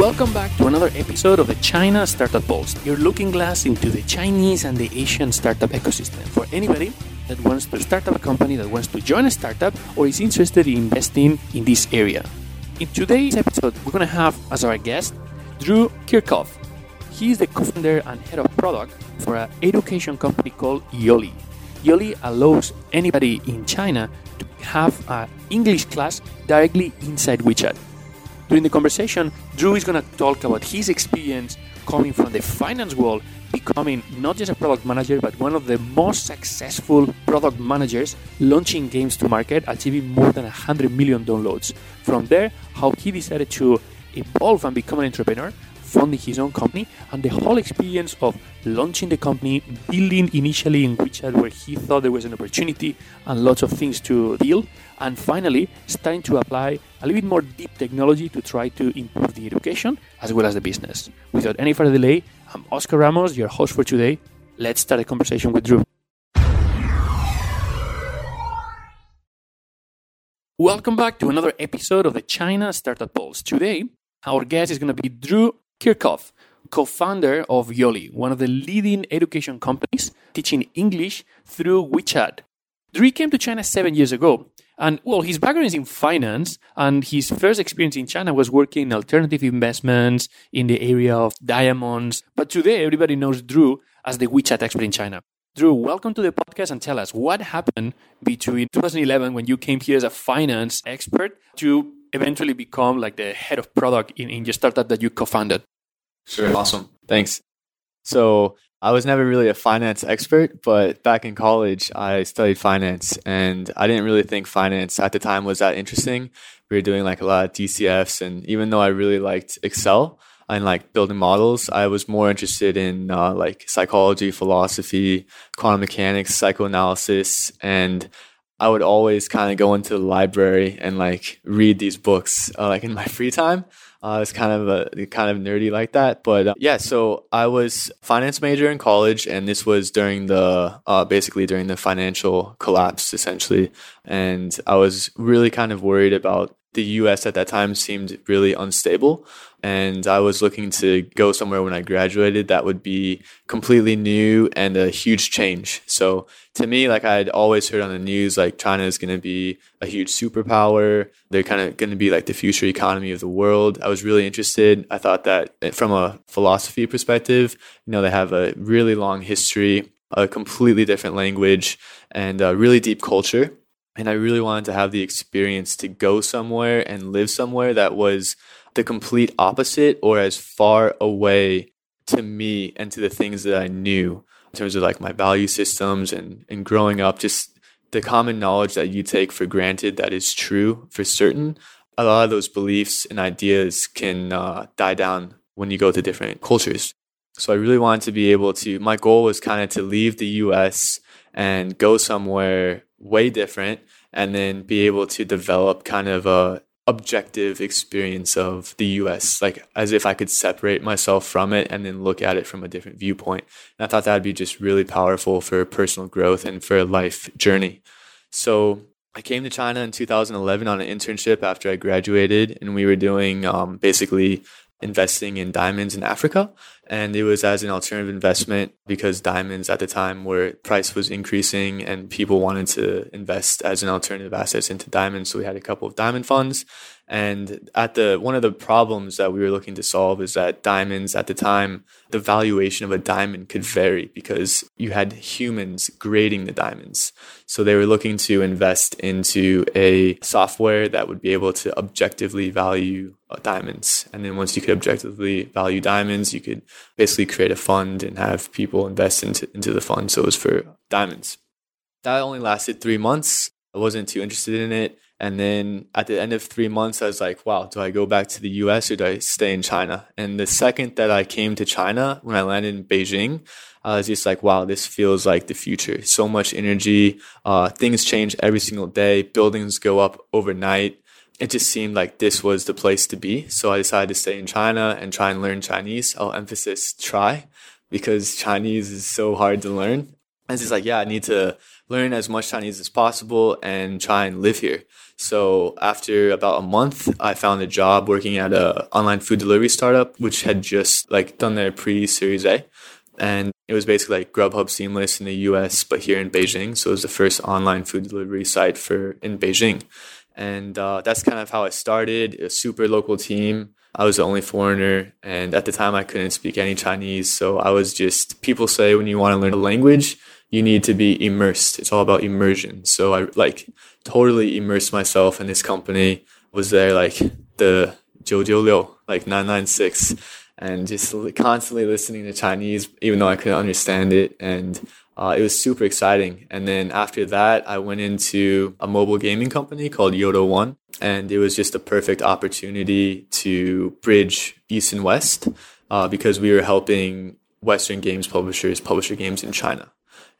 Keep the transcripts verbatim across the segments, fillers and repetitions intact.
Welcome back to another episode of the China Startup Pulse, your looking glass into the Chinese and the Asian startup ecosystem for anybody that wants to start up a company, that wants to join a startup, or is interested in investing in this area. In today's episode, we're going to have as our guest Drew Kirchhoff. He is the co-founder and head of product for an education company called Yoli. Yoli allows anybody in China to have an English class directly inside WeChat. During the conversation, Drew is going to talk about his experience coming from the finance world, becoming not just a product manager, but one of the most successful product managers, launching games to market, achieving more than one hundred million downloads. From there, how he decided to evolve and become an entrepreneur, funding his own company, and the whole experience of launching the company, building initially in WeChat where he thought there was an opportunity and lots of things to deal, and finally starting to apply a little bit more deep technology to try to improve the education as well as the business. Without any further delay, I'm Oscar Ramos, your host for today. Let's start a conversation with Drew. Welcome back to another episode of the China Startup Pulse. Today, our guest is going to be Drew Kirchhoff, co-founder of Yoli, one of the leading education companies teaching English through WeChat. Drew came to China seven years ago, and well, his background is in finance, and his first experience in China was working in alternative investments in the area of diamonds. But today, everybody knows Drew as the WeChat expert in China. Drew, welcome to the podcast, and tell us what happened between two thousand eleven when you came here as a finance expert to eventually become like the head of product in, in your startup that you co-founded. Sure. Awesome. Thanks. So I was never really a finance expert, but back in college, I studied finance, and I didn't really think finance at the time was that interesting. We were doing like a lot of D C Fs, and even though I really liked Excel and like building models, I was more interested in uh, like psychology, philosophy, quantum mechanics, psychoanalysis, and I would always kind of go into the library and like read these books uh, like in my free time. Uh, it's kind of a kind of nerdy like that, but uh, yeah. So I was a finance major in college, and this was during the uh, basically during the financial collapse, essentially. And I was really kind of worried about the U S at that time. Seemed really unstable, and I was looking to go somewhere when I graduated that would be completely new and a huge change. So to me, like I had always heard on the news, like China is going to be a huge superpower. They're kind of going to be like the future economy of the world. I was really interested. I thought that from a philosophy perspective, you know, they have a really long history, a completely different language, and a really deep culture. And I really wanted to have the experience to go somewhere and live somewhere that was the complete opposite or as far away to me and to the things that I knew in terms of like my value systems and, and growing up, just the common knowledge that you take for granted that is true for certain. A lot of those beliefs and ideas can uh, die down when you go to different cultures. So I really wanted to be able to, my goal was kind of to leave the U S and go somewhere way different, and then be able to develop kind of a objective experience of the U S, like as if I could separate myself from it and then look at it from a different viewpoint. And I thought that would be just really powerful for personal growth and for a life journey. So I came to China in two thousand eleven on an internship after I graduated, and we were doing um, basically investing in diamonds in Africa. And it was as an alternative investment because diamonds at the time where price was increasing and people wanted to invest as an alternative assets into diamonds. So we had a couple of diamond funds. And at the one of the problems that we were looking to solve is that diamonds at the time, the valuation of a diamond could vary because you had humans grading the diamonds. So they were looking to invest into a software that would be able to objectively value uh, diamonds. And then once you could objectively value diamonds, you could basically create a fund and have people invest into, into the fund. So it was for diamonds. That only lasted three months. I wasn't too interested in it. And then at the end of three months, I was like, wow, do I go back to the U S or do I stay in China? And the second that I came to China, when I landed in Beijing, I was just like, wow, this feels like the future. So much energy. Uh, things change every single day. Buildings go up overnight. It just seemed like this was the place to be. So I decided to stay in China and try and learn Chinese. I'll emphasize try because Chinese is so hard to learn. And it's like, yeah, I need to learn as much Chinese as possible and try and live here. So after about a month, I found a job working at a online food delivery startup, which had just like done their pre-Series A. And it was basically like Grubhub Seamless in the U S, but here in Beijing. So it was the first online food delivery site for in Beijing. And uh, that's kind of how I started, a super local team. I was the only foreigner, and at the time I couldn't speak any Chinese. So I was just, people say when you want to learn a language, you need to be immersed. It's all about immersion. So I like totally immersed myself in this company, was there like the nine nine six, like nine nine six, and just constantly listening to Chinese, even though I couldn't understand it. And uh, it was super exciting. And then after that, I went into a mobile gaming company called Yodo One. And it was just a perfect opportunity to bridge East and West uh, because we were helping Western games publishers publish their games in China.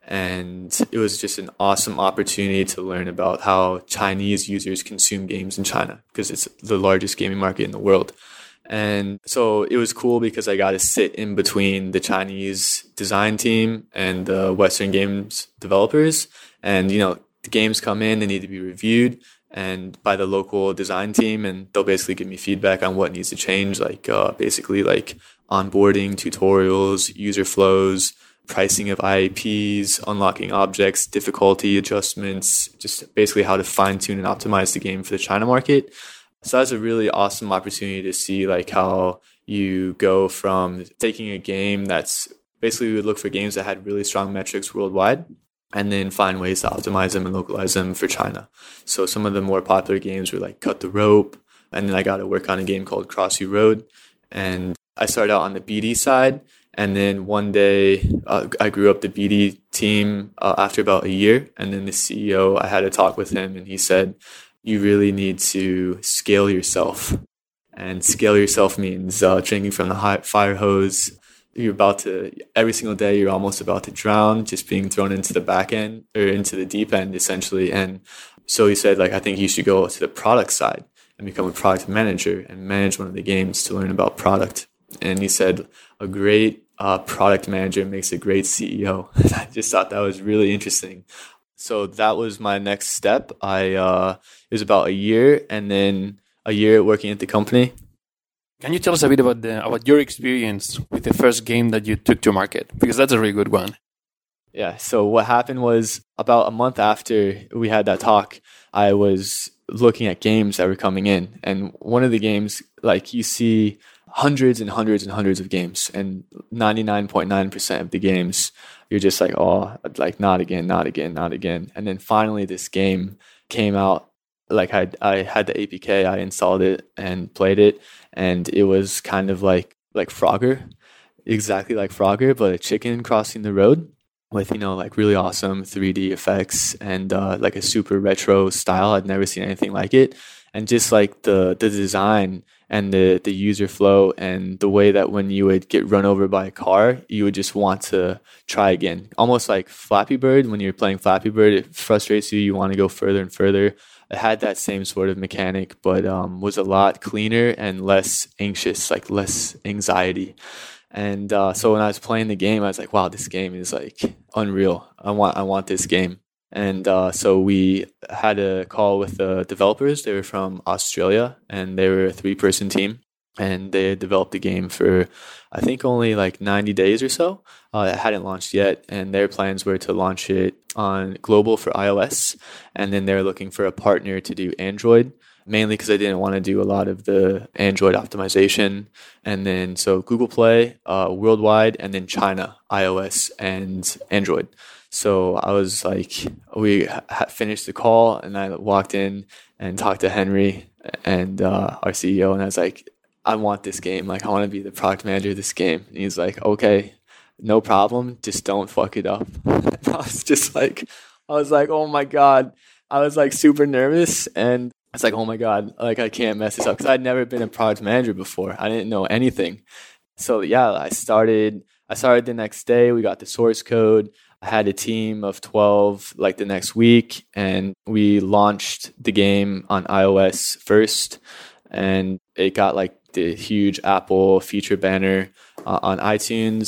And it was just an awesome opportunity to learn about how Chinese users consume games in China because it's the largest gaming market in the world. And so it was cool because I got to sit in between the Chinese design team and the Western games developers. And, you know, the games come in, they need to be reviewed and by the local design team, and they'll basically give me feedback on what needs to change, like uh, basically like onboarding, tutorials, user flows, pricing of I A Ps, unlocking objects, difficulty adjustments, just basically how to fine tune and optimize the game for the China market. So that's a really awesome opportunity to see like how you go from taking a game that's basically we would look for games that had really strong metrics worldwide and then find ways to optimize them and localize them for China. So some of the more popular games were like Cut the Rope. And then I got to work on a game called Cross You Road. And I started out on the B D side. And then one day uh, I grew up the B D team uh, after about a year. And then the C E O, I had a talk with him and he said, you really need to scale yourself. And scale yourself means uh, drinking from the high fire hose. You're about to, every single day, you're almost about to drown, just being thrown into the back end or into the deep end, essentially. And so he said, like, I think you should go to the product side and become a product manager and manage one of the games to learn about product. And he said, a great uh, product manager makes a great C E O. I just thought that was really interesting. So that was my next step. I uh, it was about a year, and then a year working at the company. Can you tell us a bit about the, about your experience with the first game that you took to market? Because that's a really good one. Yeah. So what happened was about a month after we had that talk, I was looking at games that were coming in, and one of the games, like you see hundreds and hundreds and hundreds of games, and ninety-nine point nine percent of the games, you're just like, oh, like not again, not again, not again. And then finally this game came out. Like I, I had the A P K, I installed it and played it. And it was kind of like, like Frogger, exactly like Frogger, but a chicken crossing the road with, you know, like really awesome three D effects and uh, like a super retro style. I'd never seen anything like it. And just like the, the design and the, the user flow and the way that when you would get run over by a car, you would just want to try again. Almost like Flappy Bird. When you're playing Flappy Bird, it frustrates you. You want to go further and further. It had that same sort of mechanic, but um, was a lot cleaner and less anxious, like less anxiety. And uh, so when I was playing the game, I was like, wow, this game is like unreal. I want, I want this game. And uh, so we had a call with the developers. They were from Australia, and they were a three-person team. And they had developed the game for, I think, only like ninety days or so. Uh, it hadn't launched yet, and their plans were to launch it on global for iOS. And then they were looking for a partner to do Android, mainly because I didn't want to do a lot of the Android optimization. And then so Google Play, uh, worldwide, and then China, iOS and Android. So I was like, we ha- finished the call, and I walked in and talked to Henry and uh, our C E O, and I was like, I want this game. Like, I want to be the product manager of this game. And he's like, okay, no problem. Just don't fuck it up. And I was just like, I was like, oh my God. I was like super nervous, and I was like, oh my God, like I can't mess this up because I'd never been a product manager before. I didn't know anything. So yeah, I started, I started the next day. We got the source code. I had a team of twelve like the next week, and we launched the game on iOS first, and it got like the huge Apple feature banner uh, on iTunes.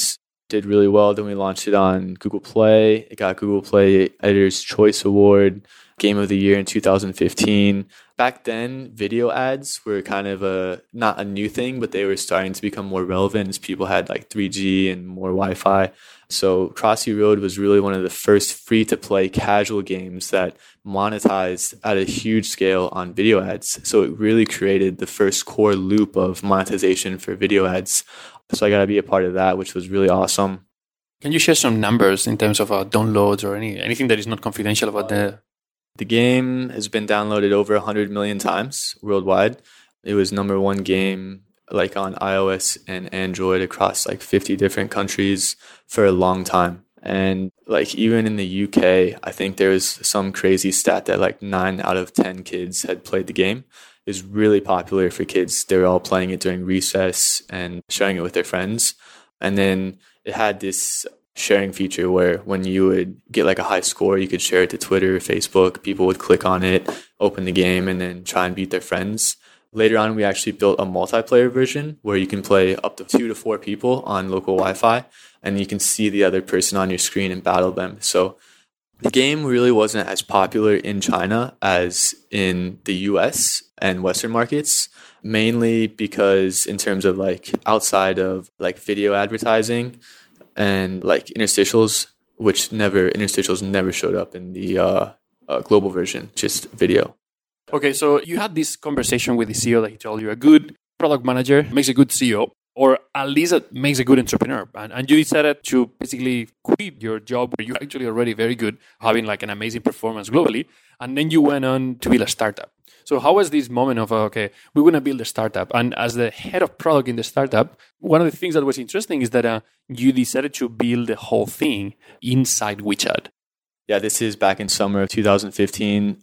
did really well. Then we launched it on Google Play. It got Google Play Editor's Choice Award, Game of the Year in two thousand fifteen. Back then, video ads were kind of a not a new thing, but they were starting to become more relevant as people had like three G and more Wi-Fi. So Crossy Road was really one of the first free-to-play casual games that monetized at a huge scale on video ads. So it really created the first core loop of monetization for video ads. So I got to be a part of that, which was really awesome. Can you share some numbers in terms of uh, downloads or any anything that is not confidential about the... The game has been downloaded over one hundred million times worldwide. It was number one game like on iOS and Android across like fifty different countries for a long time. And like even in the U K, I think there was some crazy stat that like nine out of ten kids had played the game. It was really popular for kids. They were all playing it during recess and sharing it with their friends. And then it had this sharing feature where when you would get like a high score, you could share it to Twitter or Facebook. People would click on it, open the game, and then try and beat their friends. Later on, we actually built a multiplayer version where you can play up to two to four people on local Wi-Fi, and you can see the other person on your screen and battle them. So the game really wasn't as popular in China as in the U S and Western markets, mainly because in terms of like outside of like video advertising and like interstitials, which never interstitials never showed up in the uh, uh, global version, just video. Okay, so you had this conversation with the C E O that he told you a good product manager makes a good C E O, or at least it makes a good entrepreneur. And, and you decided to basically quit your job where you're actually already very good, having like an amazing performance globally. And then you went on to build a startup. So how was this moment of, uh, okay, we're going to build a startup. And as the head of product in the startup, one of the things that was interesting is that uh, you decided to build the whole thing inside WeChat. Yeah, this is back in summer of two thousand fifteen.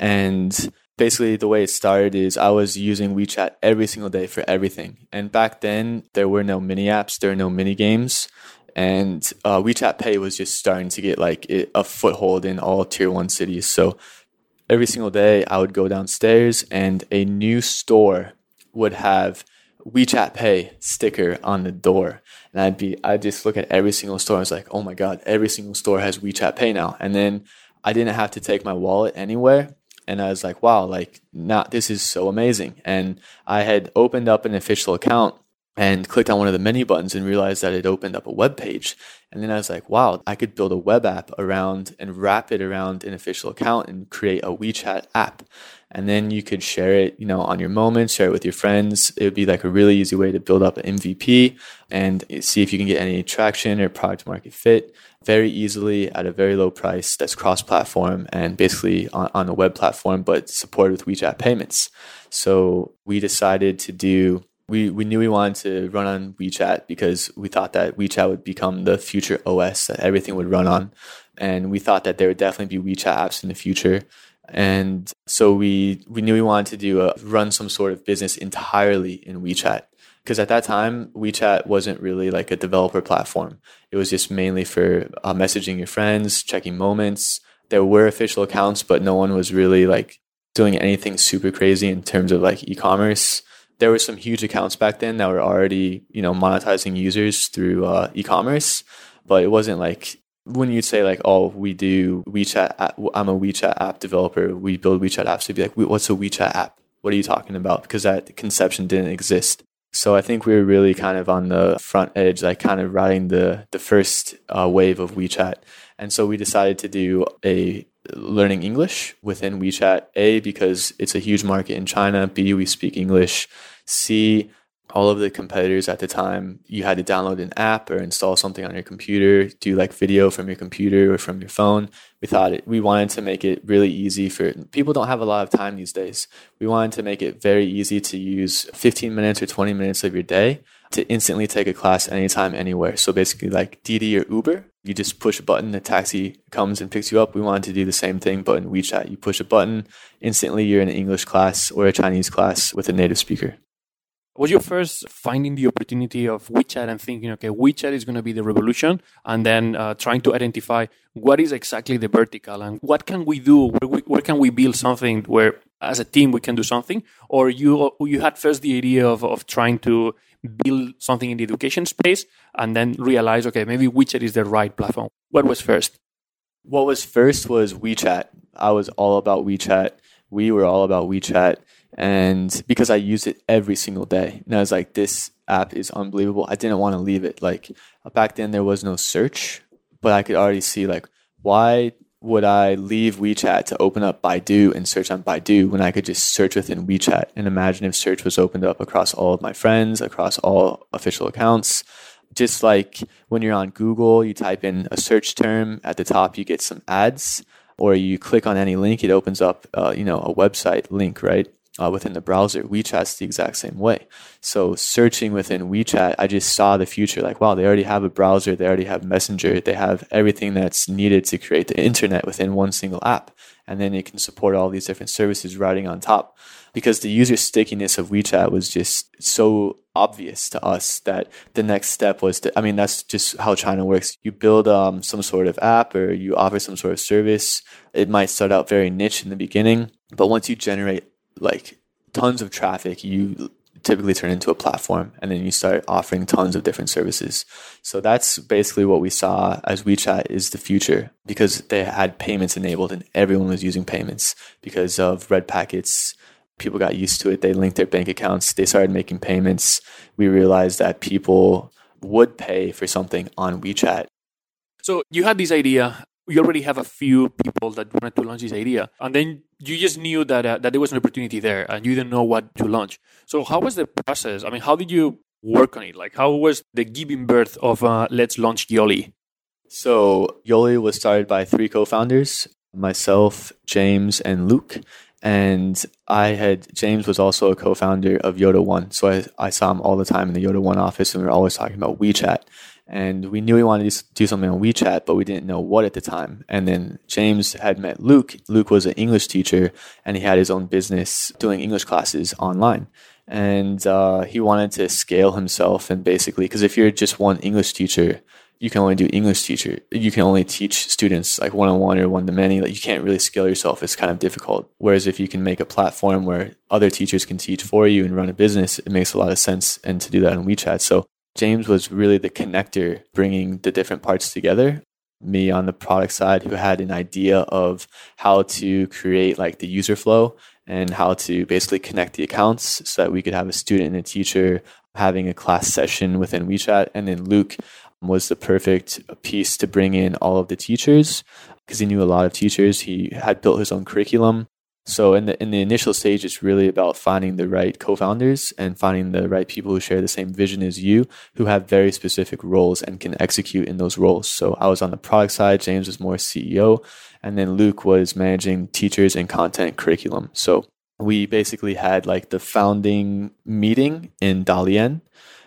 And basically the way it started is I was using WeChat every single day for everything. And back then, there were no mini apps, there were no mini games. And uh, WeChat Pay was just starting to get like a foothold in all tier one cities. So every single day I would go downstairs and a new store would have WeChat Pay sticker on the door. And I'd be, I'd just look at every single store. I was like, oh my God, every single store has WeChat Pay now. And then I didn't have to take my wallet anywhere. And I was like, wow, like now this is so amazing. And I had opened up an official account and clicked on one of the menu buttons and realized that it opened up a web page. And then I was like, wow, I could build a web app around and wrap it around an official account and create a WeChat app. And then you could share it, you know, on your moments, share it with your friends. It would be like a really easy way to build up an M V P and see if you can get any traction or product market fit very easily at a very low price that's cross-platform and basically on, on a web platform, but supported with WeChat payments. So we decided to do We, we knew we wanted to run on WeChat because we thought that WeChat would become the future O S that everything would run on. And we thought that there would definitely be WeChat apps in the future. And so we, we knew we wanted to do a, run some sort of business entirely in WeChat. Because at that time, WeChat wasn't really like a developer platform. It was just mainly for uh, messaging your friends, checking moments. There were official accounts, but no one was really like doing anything super crazy in terms of like e-commerce. There were some huge accounts back then that were already, you know, monetizing users through uh, e-commerce, but it wasn't like when you'd say like, oh, we do WeChat, app, I'm a WeChat app developer, we build WeChat apps. You'd be like, what's a WeChat app? What are you talking about? Because that conception didn't exist. So I think we were really kind of on the front edge, like kind of riding the the first uh, wave of WeChat. And so we decided to do a learning English within WeChat, A, because it's a huge market in China, B, we speak English, C, all of the competitors at the time, you had to download an app or install something on your computer, do like video from your computer or from your phone. We thought it, we wanted to make it really easy for people don't have a lot of time these days. We wanted to make it very easy to use fifteen minutes or twenty minutes of your day to instantly take a class anytime, anywhere. So basically like Didi or Uber, you just push a button, the taxi comes and picks you up. We wanted to do the same thing, but in WeChat, you push a button, instantly you're in an English class or a Chinese class with a native speaker. Was your first finding the opportunity of WeChat and thinking, okay, WeChat is going to be the revolution, and then uh, trying to identify what is exactly the vertical and what can we do, where, we, where can we build something where as a team we can do something? Or you you had first the idea of, of trying to build something in the education space and then realize, okay, maybe WeChat is the right platform? What was first? What was first was WeChat. I was all about WeChat. We were all about WeChat. And because I used it every single day. And I was like, this app is unbelievable. I didn't want to leave it. Like back then there was no search, but I could already see like, why would I leave WeChat to open up Baidu and search on Baidu when I could just search within WeChat? And imagine if search was opened up across all of my friends, across all official accounts. Just like when you're on Google, you type in a search term, at the top you get some ads, or you click on any link, it opens up uh, you know, a website link, right? Uh, within the browser. WeChat's the exact same way. So searching within WeChat, I just saw the future. Like, wow, they already have a browser. They already have Messenger. They have everything that's needed to create the internet within one single app. And then it can support all these different services riding on top. Because the user stickiness of WeChat was just so obvious to us that the next step was to, I mean, that's just how China works. You build um, some sort of app or you offer some sort of service. It might start out very niche in the beginning, but once you generate like tons of traffic, you typically turn into a platform and then you start offering tons of different services. So that's basically what we saw as WeChat is the future, because they had payments enabled and everyone was using payments because of red packets. People got used to it. They linked their bank accounts. They started making payments. We realized that people would pay for something on WeChat. So you had this idea. You already have a few people that wanted to launch this idea. And then you just knew that uh, that there was an opportunity there and you didn't know what to launch. So how was the process? I mean, how did you work on it? Like, how was the giving birth of uh, Let's Launch Yoli? So Yoli was started by three co-founders, myself, James, and Luke. And I had, James was also a co-founder of Yoda One. So I, I saw him all the time in the Yoda One office and we were always talking about WeChat. And we knew we wanted to do something on WeChat, but we didn't know what at the time. And then James had met Luke. Luke was an English teacher and he had his own business doing English classes online. And uh, he wanted to scale himself and basically, because if you're just one English teacher, you can only do English teacher. You can only teach students like one-on-one or one-to-many. Like you can't really scale yourself. It's kind of difficult. Whereas if you can make a platform where other teachers can teach for you and run a business, it makes a lot of sense. And to do that on WeChat. So James was really the connector, bringing the different parts together. Me on the product side, who had an idea of how to create like the user flow and how to basically connect the accounts so that we could have a student and a teacher having a class session within WeChat. And then Luke was the perfect piece to bring in all of the teachers because he knew a lot of teachers. He had built his own curriculum. So in the in the initial stage, it's really about finding the right co-founders and finding the right people who share the same vision as you, who have very specific roles and can execute in those roles. So I was on the product side, James was more C E O, and then Luke was managing teachers and content curriculum. So we basically had like the founding meeting in Dalian,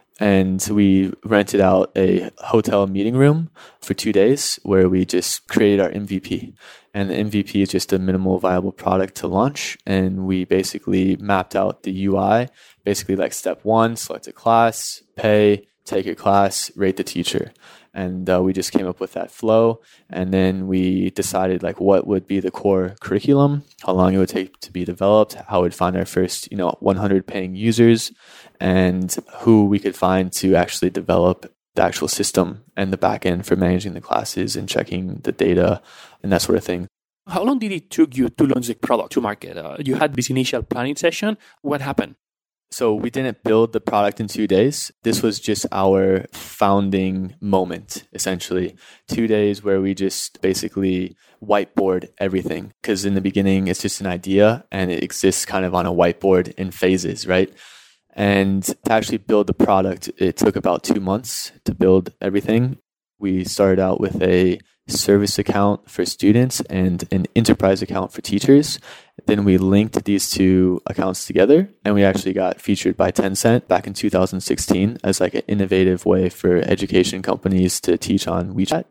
and we rented out a hotel meeting room for two days where we just created our M V P. And the M V P is just a minimal viable product to launch. And we basically mapped out the U I, basically like step one, select a class, pay, take your class, rate the teacher. And uh, we just came up with that flow. And then we decided like what would be the core curriculum, how long it would take to be developed, how we'd find our first, you know, one hundred paying users, and who we could find to actually develop the actual system and the backend for managing the classes and checking the data and that sort of thing. How long did it took you to launch the product to market? Uh, you had this initial planning session. What happened? So we didn't build the product in two days. This was just our founding moment, essentially. Two days where we just basically whiteboard everything. Because in the beginning, it's just an idea and it exists kind of on a whiteboard in phases, right? And to actually build the product, it took about two months to build everything. We started out with a service account for students and an enterprise account for teachers. Then we linked these two accounts together and we actually got featured by Tencent back in two thousand sixteen as like an innovative way for education companies to teach on WeChat.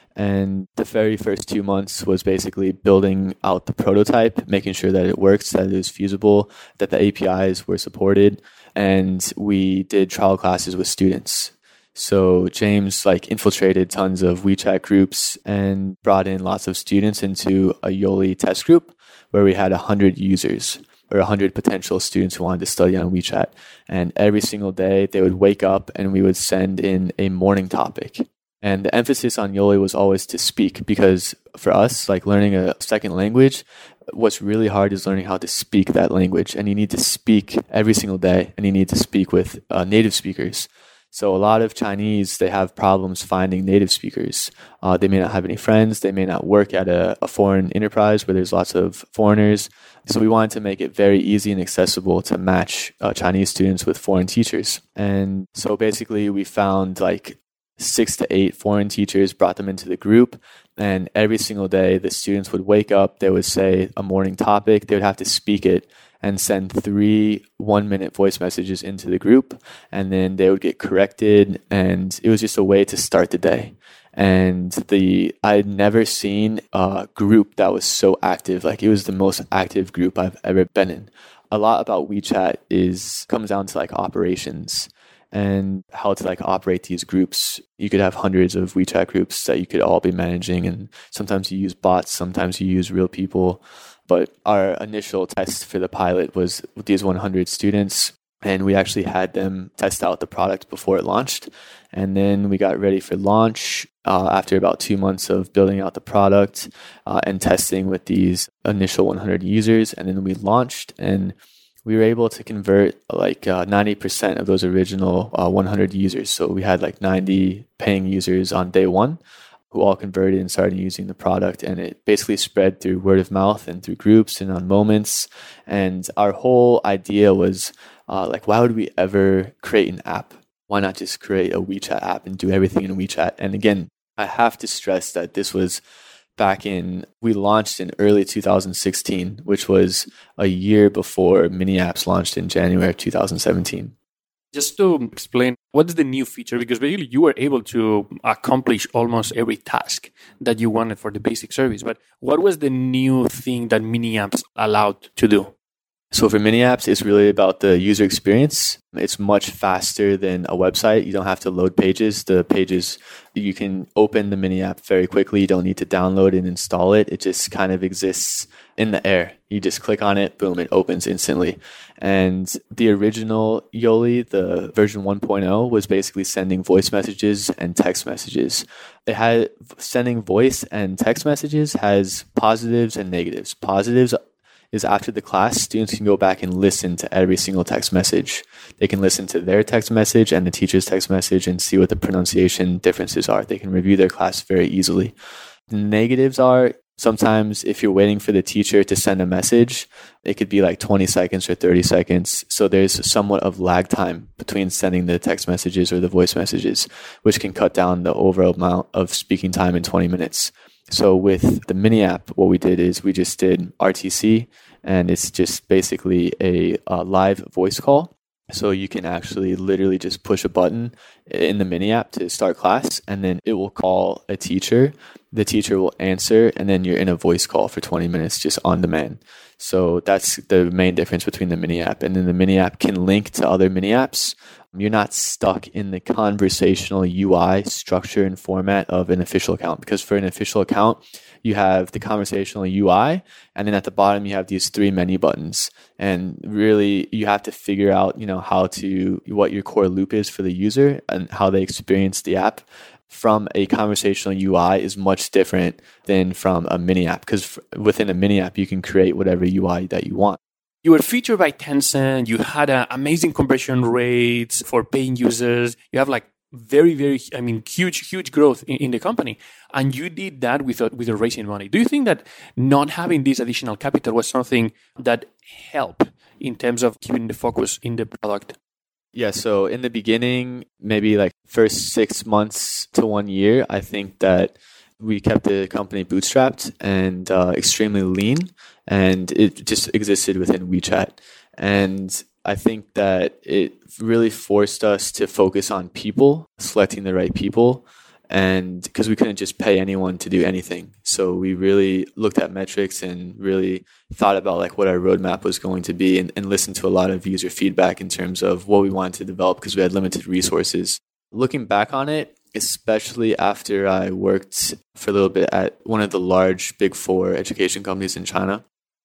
And the very first two months was basically building out the prototype, making sure that it works, that it was feasible, that the A P Is were supported. And we did trial classes with students. So James like infiltrated tons of WeChat groups and brought in lots of students into a Yoli test group where we had one hundred users. or one hundred potential students who wanted to study on WeChat. And every single day they would wake up and we would send in a morning topic. And the emphasis on Yoli was always to speak, because for us, like learning a second language, what's really hard is learning how to speak that language. And you need to speak every single day, and you need to speak with uh, native speakers. So a lot of Chinese, they have problems finding native speakers. Uh, they may not have any friends. They may not work at a, a foreign enterprise where there's lots of foreigners. So we wanted to make it very easy and accessible to match uh, Chinese students with foreign teachers. And so basically we found like six to eight foreign teachers, brought them into the group. And every single day, the students would wake up, they would say a morning topic, they would have to speak it and send three one-minute voice messages into the group. And then they would get corrected. And it was just a way to start the day. And the I had never seen a group that was so active. Like, it was the most active group I've ever been in. A lot about WeChat is comes down to like operations and how to like operate these groups. You could have hundreds of WeChat groups that you could all be managing, and sometimes you use bots, sometimes you use real people. But our initial test for the pilot was with these one hundred students, and we actually had them test out the product before it launched. And then we got ready for launch uh, after about two months of building out the product uh, and testing with these initial one hundred users. And then we launched, and we were able to convert like uh, ninety percent of those original uh, one hundred users. So we had like ninety paying users on day one who all converted and started using the product. And it basically spread through word of mouth and through groups and on Moments. And our whole idea was uh, like, why would we ever create an app? Why not just create a WeChat app and do everything in WeChat? And again, I have to stress that this was back in, we launched in early two thousand sixteen, which was a year before Mini Apps launched in January of two thousand seventeen. Just to explain, what is the new feature? Because basically you were able to accomplish almost every task that you wanted for the basic service. But what was the new thing that Mini Apps allowed to do? So for Mini Apps, it's really about the user experience. It's much faster than a website. You don't have to load pages. The pages, you can open the Mini App very quickly. You don't need to download and install it. It just kind of exists in the air. You just click on it, boom, it opens instantly. And the original Yoli, the version one point oh, was basically sending voice messages and text messages. It had sending voice and text messages has positives and negatives. Positives is after the class, students can go back and listen to every single text message. They can listen to their text message and the teacher's text message and see what the pronunciation differences are. They can review their class very easily. The negatives are sometimes if you're waiting for the teacher to send a message, it could be like twenty seconds or thirty seconds. So there's somewhat of lag time between sending the text messages or the voice messages, which can cut down the overall amount of speaking time in twenty minutes. So with the Mini App, what we did is we just did R T C, and it's just basically a, a live voice call. So you can actually literally just push a button in the Mini App to start class, and then it will call a teacher. The teacher will answer, and then you're in a voice call for twenty minutes just on demand. So that's the main difference between the Mini App. And then the Mini App can link to other Mini Apps. You're not stuck in the conversational U I structure and format of an official account, because for an official account, you have the conversational U I, and then at the bottom, you have these three menu buttons. And really, you have to figure out, you know, how to, what your core loop is for the user and how they experience the app from a conversational U I is much different than from a Mini App, because within a Mini App, you can create whatever U I that you want. You were featured by Tencent. You had uh, amazing conversion rates for paying users. You have like very, very, I mean, huge, huge growth in, in the company. And you did that without, without raising money. Do you think that not having this additional capital was something that helped in terms of keeping the focus in the product? Yeah, so in the beginning, maybe like first six months to one year, I think that we kept the company bootstrapped and uh, extremely lean, and it just existed within WeChat. And I think that it really forced us to focus on people, selecting the right people, and because we couldn't just pay anyone to do anything. So we really looked at metrics and really thought about like what our roadmap was going to be, and, and listened to a lot of user feedback in terms of what we wanted to develop, because we had limited resources. Looking back on it, especially after I worked for a little bit at one of the large big four education companies in China,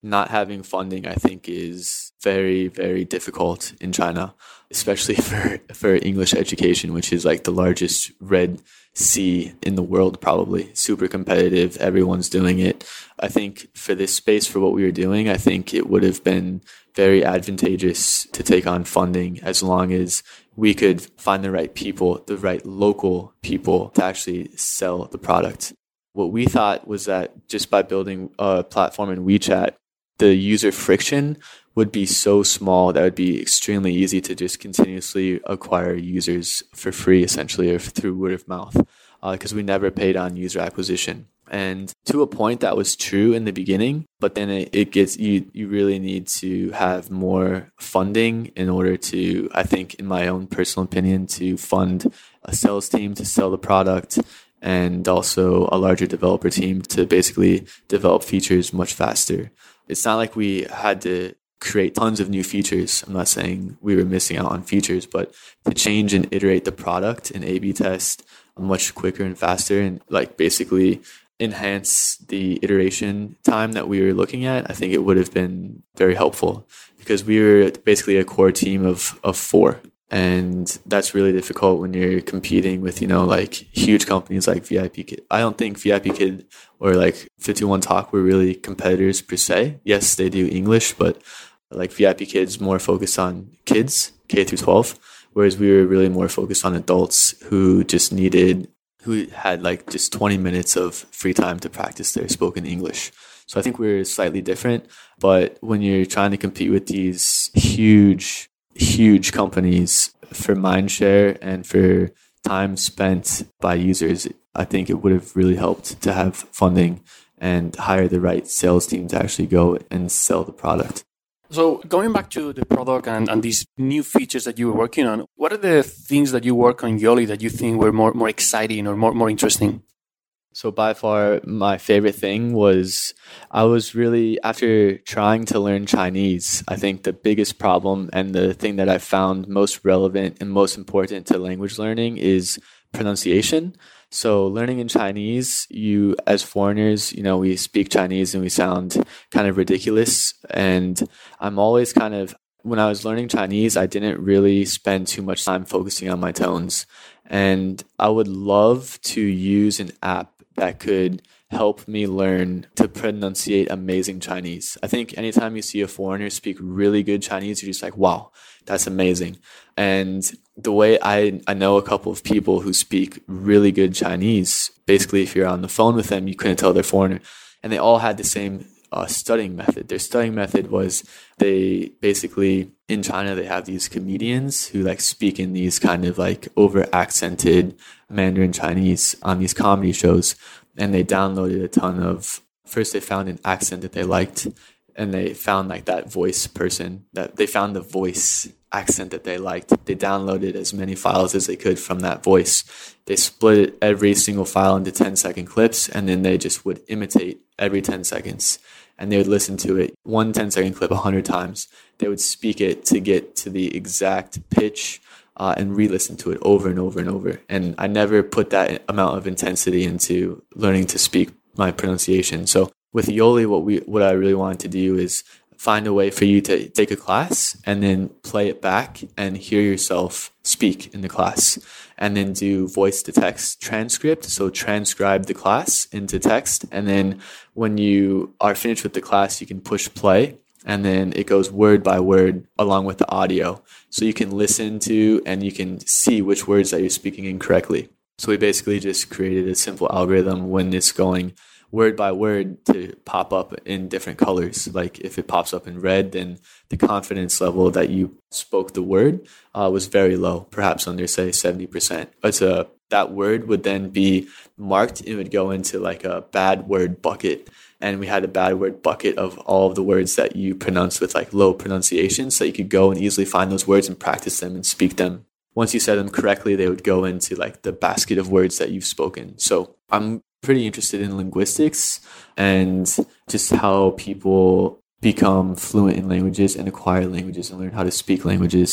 not having funding, I think, is very, very difficult in China, especially for, for English education, which is like the largest red sea in the world, probably. Super competitive. Everyone's doing it. I think for this space, for what we were doing, I think it would have been very advantageous to take on funding as long as we could find the right people, the right local people to actually sell the product. What we thought was that just by building a platform in WeChat, the user friction would be so small that it would be extremely easy to just continuously acquire users for free, essentially, or through word of mouth, because uh, we never paid on user acquisition. And to a point, that was true in the beginning, but then it, it gets, you, you really need to have more funding in order to, I think, in my own personal opinion, to fund a sales team to sell the product, and also a larger developer team to basically develop features much faster. It's not like we had to create tons of new features. I'm not saying we were missing out on features, but to change and iterate the product and A B test much quicker and faster, and like basically enhance the iteration time that we were looking at, I think it would have been very helpful, because we were basically a core team of, of four. And that's really difficult when you're competing with, you know, like huge companies like V I P Kid. I don't think V I P Kid or like fifty-one Talk were really competitors per se. Yes, they do English, but like V I P Kid's more focused on kids, K through twelve, whereas we were really more focused on adults who just needed, who had like just twenty minutes of free time to practice their spoken English. So I think we're slightly different, but when you're trying to compete with these huge huge companies for mindshare and for time spent by users, I think it would have really helped to have funding and hire the right sales team to actually go and sell the product. So going back to the product and, and these new features that you were working on, what are the things that you work on Yoli that you think were more, more exciting or more, more interesting? So by far, my favorite thing was I was really, after trying to learn Chinese, I think the biggest problem and the thing that I found most relevant and most important to language learning is pronunciation. So learning in Chinese, you as foreigners, you know, we speak Chinese and we sound kind of ridiculous. And I'm always kind of, when I was learning Chinese, I didn't really spend too much time focusing on my tones. And I would love to use an app that could help me learn to pronunciate amazing Chinese. I think anytime you see a foreigner speak really good Chinese, you're just like, wow, that's amazing. And the way I, I know a couple of people who speak really good Chinese, basically if you're on the phone with them, you couldn't tell they're foreigner. And they all had the same uh, studying method. Their studying method was they basically, in China, they have these comedians who like speak in these kind of like over accented Mandarin Chinese on these comedy shows. And they downloaded a ton of, first they found an accent that they liked, and they found like that voice person, that they found the voice accent that they liked. They downloaded as many files as they could from that voice. They split every single file into ten second clips, and then they just would imitate every ten seconds. And they would listen to it, one ten second clip a hundred times. They would speak it to get to the exact pitch uh, and re-listen to it over and over and over. And I never put that amount of intensity into learning to speak my pronunciation. So with Yoli, what we what I really wanted to do is find a way for you to take a class and then play it back and hear yourself speak in the class, and then do voice to text transcript. So transcribe the class into text. And then when you are finished with the class, you can push play, and then it goes word by word along with the audio. So you can listen to and you can see which words that you're speaking incorrectly. So we basically just created a simple algorithm when it's going word by word to pop up in different colors. Like if it pops up in red, then the confidence level that you spoke the word uh, was very low, perhaps under say seventy percent. But uh, that word would then be marked. It would go into like a bad word bucket. And we had a bad word bucket of all of the words that you pronounce with like low pronunciation. So you could go and easily find those words and practice them and speak them. Once you said them correctly, they would go into like the basket of words that you've spoken. So I'm pretty interested in linguistics and just how people become fluent in languages and acquire languages and learn how to speak languages.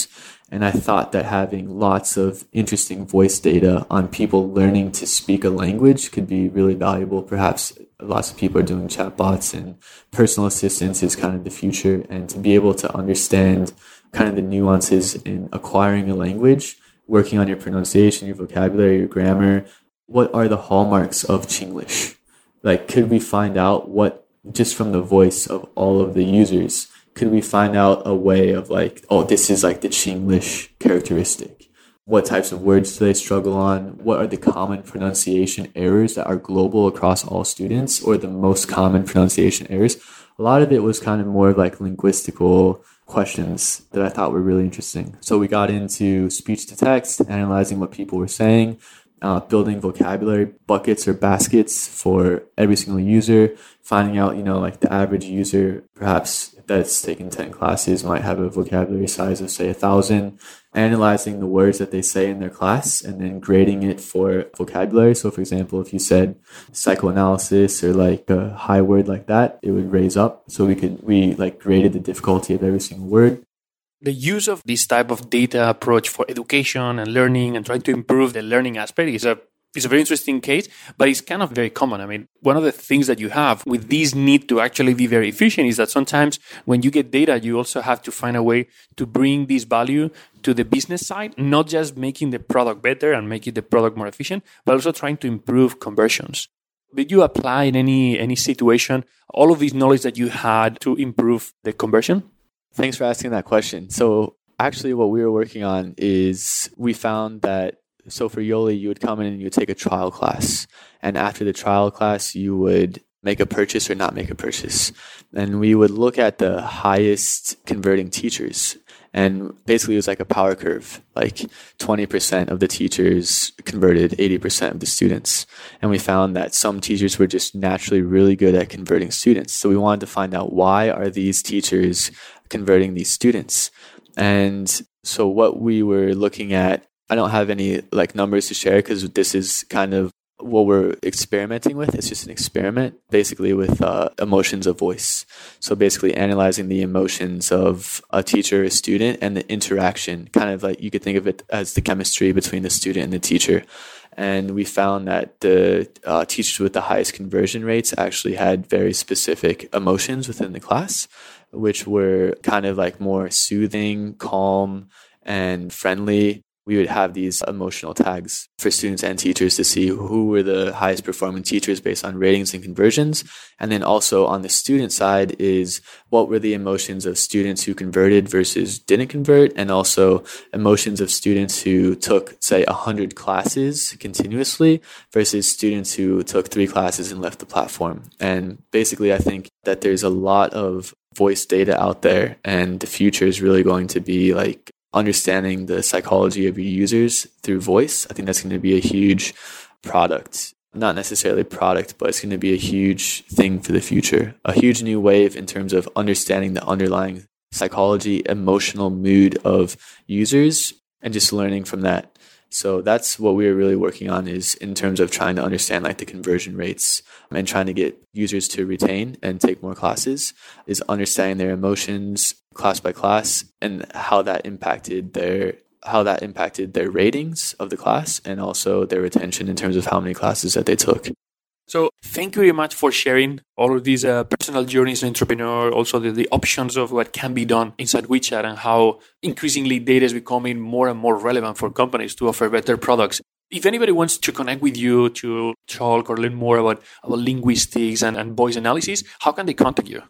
And I thought that having lots of interesting voice data on people learning to speak a language could be really valuable. Perhaps lots of people are doing chatbots, and personal assistance is kind of the future. And to be able to understand kind of the nuances in acquiring a language, working on your pronunciation, your vocabulary, your grammar, what are the hallmarks of Chinglish? Like, could we find out what, just from the voice of all of the users, could we find out a way of like, oh, this is like the Chinglish characteristic? What types of words do they struggle on? What are the common pronunciation errors that are global across all students, or the most common pronunciation errors? A lot of it was kind of more of like linguistical questions that I thought were really interesting. So we got into speech to text, analyzing what people were saying, uh, building vocabulary buckets or baskets for every single user, finding out, you know, like the average user, perhaps that's taken ten classes, might have a vocabulary size of, say, a thousand, analyzing the words that they say in their class and then grading it for vocabulary. So, for example, if you said psychoanalysis or like a high word like that, it would raise up. So we could, we like graded the difficulty of every single word. The use of this type of data approach for education and learning and trying to improve the learning aspect is a It's a very interesting case, but it's kind of very common. I mean, one of the things that you have with this need to actually be very efficient is that sometimes when you get data, you also have to find a way to bring this value to the business side, not just making the product better and making the product more efficient, but also trying to improve conversions. Did you apply in any, any situation all of this knowledge that you had to improve the conversion? Thanks for asking that question. So actually what we were working on is we found that So for Yoli, you would come in and you would take a trial class. And after the trial class, you would make a purchase or not make a purchase. And we would look at the highest converting teachers. And basically, it was like a power curve. Like twenty percent of the teachers converted eighty percent of the students. And we found that some teachers were just naturally really good at converting students. So we wanted to find out, why are these teachers converting these students? And so what we were looking at, I don't have any like numbers to share because this is kind of what we're experimenting with. It's just an experiment, basically, with uh, emotions of voice. So basically analyzing the emotions of a teacher or a student and the interaction, kind of like you could think of it as the chemistry between the student and the teacher. And we found that the uh, teachers with the highest conversion rates actually had very specific emotions within the class, which were kind of like more soothing, calm, and friendly. We would have these emotional tags for students and teachers to see who were the highest performing teachers based on ratings and conversions. And then also on the student side is what were the emotions of students who converted versus didn't convert, and also emotions of students who took, say, one hundred classes continuously versus students who took three classes and left the platform. And basically, I think that there's a lot of voice data out there, and the future is really going to be like understanding the psychology of your users through voice. I think that's going to be a huge product, not necessarily product, but it's going to be a huge thing for the future, a huge new wave in terms of understanding the underlying psychology, emotional mood of users, and just learning from that. So that's what we're really working on, is in terms of trying to understand like the conversion rates and trying to get users to retain and take more classes, is understanding their emotions class by class and how that impacted their how that impacted their ratings of the class and also their retention in terms of how many classes that they took. So thank you very much for sharing all of these uh, personal journeys as an entrepreneur, also the, the options of what can be done inside WeChat and how increasingly data is becoming more and more relevant for companies to offer better products. If anybody wants to connect with you to talk or learn more about, about linguistics and, and voice analysis, how can they contact you?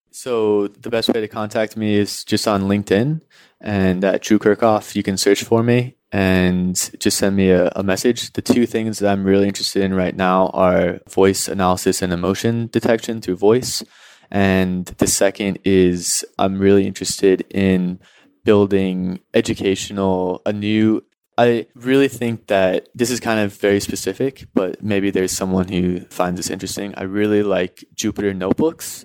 So the best way to contact me is just on LinkedIn, and at Drew Kirchhoff, you can search for me and just send me a, a message. The two things that I'm really interested in right now are voice analysis and emotion detection through voice. And the second is I'm really interested in building educational, a new, I really think that this is kind of very specific, but maybe there's someone who finds this interesting. I really like Jupyter Notebooks.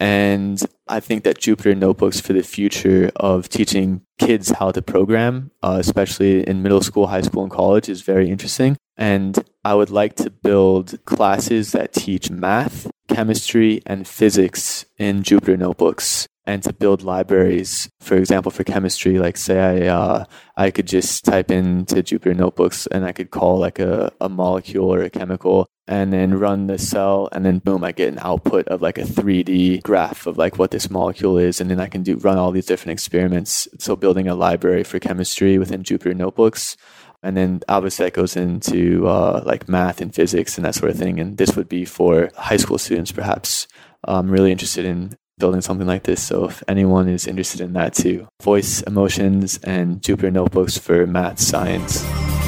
And I think that Jupyter Notebooks for the future of teaching kids how to program, uh, especially in middle school, high school, and college, is very interesting. And I would like to build classes that teach math chemistry and physics in Jupyter Notebooks, and to build libraries. For example, for chemistry, like say I uh, I could just type into Jupyter Notebooks and I could call like a, a molecule or a chemical and then run the cell, and then boom, I get an output of like a three D graph of like what this molecule is, and then I can do run all these different experiments. So building a library for chemistry within Jupyter Notebooks. And then obviously that goes into uh, like math and physics and that sort of thing. And this would be for high school students, perhaps. I'm really interested in building something like this. So if anyone is interested in that too, voice, emotions, and Jupyter Notebooks for math, science.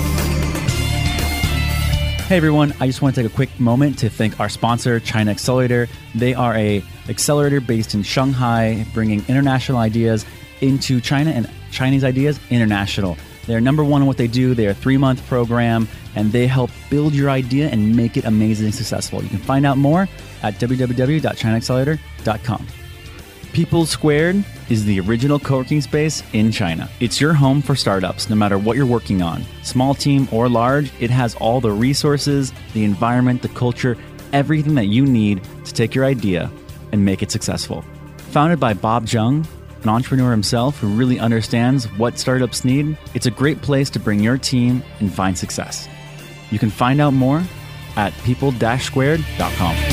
Hey everyone, I just want to take a quick moment to thank our sponsor, China Accelerator. They are a accelerator based in Shanghai, bringing international ideas into China and Chinese ideas international. They're number one in what they do. They're a three-month program, and they help build your idea and make it amazingly successful. You can find out more at w w w dot china accelerator dot com. People Squared is the original co-working space in China. It's your home for startups, no matter what you're working on. Small team or large, it has all the resources, the environment, the culture, everything that you need to take your idea and make it successful. Founded by Bob Jung, an entrepreneur himself who really understands what startups need, it's a great place to bring your team and find success. You can find out more at people dash squared dot com.